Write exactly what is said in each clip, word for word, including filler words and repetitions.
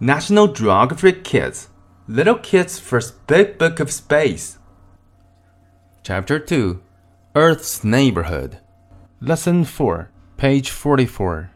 National Geographic Kids, Little Kids' First Big Book of Space. Chapter two, Earth's Neighborhood. Lesson four, page forty-four.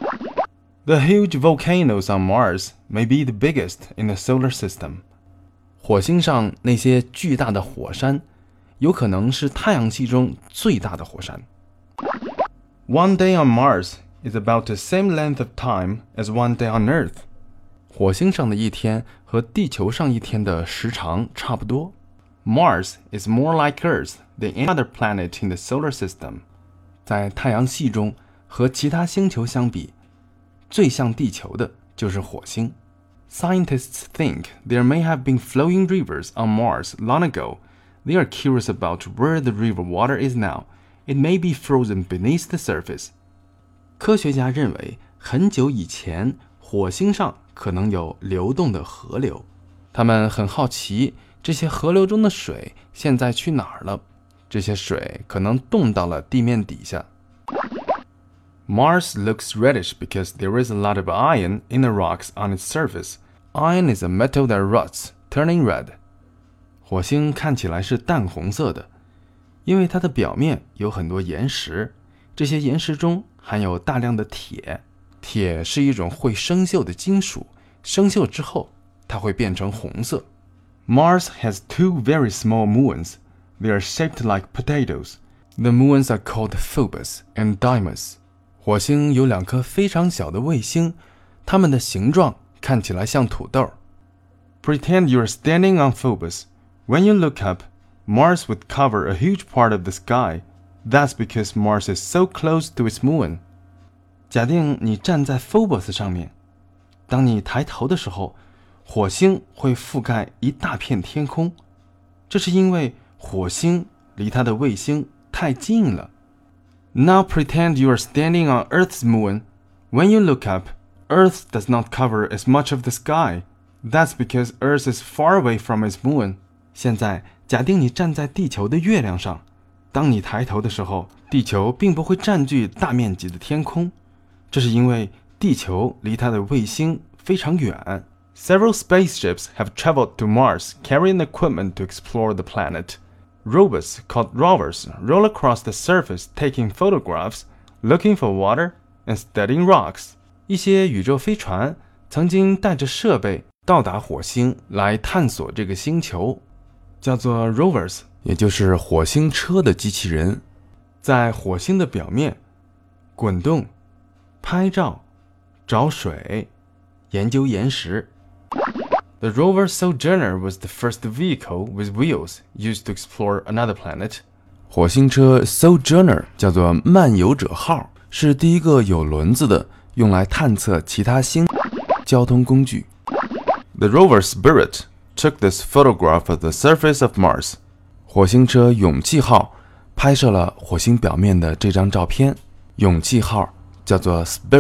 The huge volcanoes on Mars may be the biggest in the solar system. 火星上那些巨大的火山，有可能是太阳系中最大的火山。One day on Mars is about the same length of time as one day on Earth. 火星上的一天和地球上一天的时长差不多。Mars is more like Earth than any other planet in the solar system. 在太阳系中和其他星球相比，最像地球的就是火星。Scientists think there may have been flowing rivers on Mars long ago. They are curious about where the river water is now. It may be frozen beneath the surface. 科学家认为，很久以前，火星上可能有流动的河流。他们很好奇，这些河流中的水现在去哪儿了？这些水可能冻到了地面底下。Mars looks reddish because there is a lot of iron in the rocks on its surface. Iron is a metal that rots, turning red. 火星看起来是淡红色的，因为它的表面有很多岩石，这些岩石中含有大量的铁。铁是一种会生锈的金属，生锈之后，它会变成红色。Mars has two very small moons. They are shaped like potatoes. The moons are called Phobos and Deimos. 火星有两颗非常小的卫星，它们的形状看起来像土豆。Pretend you are standing on Phobos. When you look up, Mars would cover a huge part of the sky. That's because Mars is so close to its moon. 假定你站在 Phobos 上面，当你抬头的时候，火星会覆盖一大片天空，这是因为火星离它的卫星太近了。Now pretend you are standing on Earth's moon. When you look up, Earth does not cover as much of the sky. That's because Earth is far away from its moon. 现在假定你站在地球的月亮上，当你抬头的时候，地球并不会占据大面积的天空，这是因为地球离它的卫星非常远。Several spaceships have traveled to Mars carrying equipment to explore the planet. Robots called rovers roll across the surface taking photographs, looking for water, and studying rocks. 一些宇宙飞船曾经带着设备到达火星来探索这个星球，叫做 rovers， 也就是火星车的机器人，在火星的表面滚动、拍照、找水、研究岩石。The rover Sojourner was the first vehicle with wheels used to explore another planet. 火星车 Sojourner 叫做漫游者号，是第一个有轮子的用来探测其他星交通工具。The rover Spirit took this photograph of the surface of Mars. 火星车勇气号拍摄了火星表面的这张照片。勇气号叫做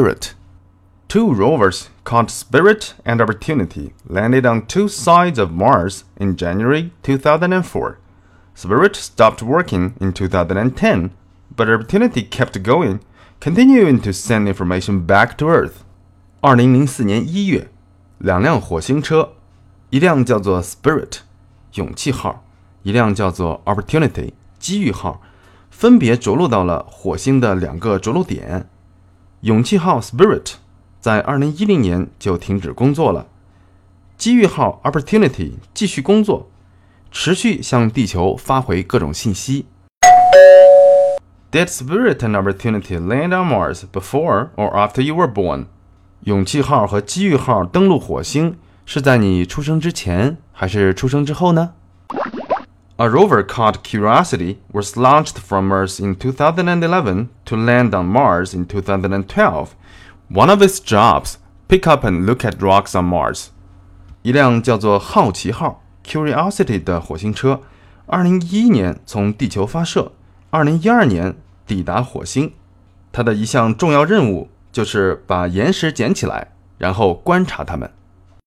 Spirit。Two rovers called Spirit and Opportunity landed on two sides of Mars in January two thousand four. Spirit stopped working in two thousand ten, but Opportunity kept going, continuing to send information back to Earth. 二零零四年一月，两辆火星车，一辆叫做 Spirit 勇气号，一辆叫做 Opportunity 机遇号，分别着陆到了火星的两个着陆点。勇气号 Spirit在二零一零年就停止工作了，机遇号 Opportunity 继续工作，持续向地球发回各种信息。Did Spirit and Opportunity land on Mars before or after you were born? 勇气号和机遇号登陆火星是在你出生之前还是出生之后呢？ A rover called Curiosity was launched from Earth in two thousand eleven to land on Mars in two thousand twelve.One of its jobs, pick up and look at rocks on Mars. 一辆叫做好奇号 Curiosity 的火星车，二零一一年从地球发射，二零一二年抵达火星。它的一项重要任务就是把岩石捡起来，然后观察它们。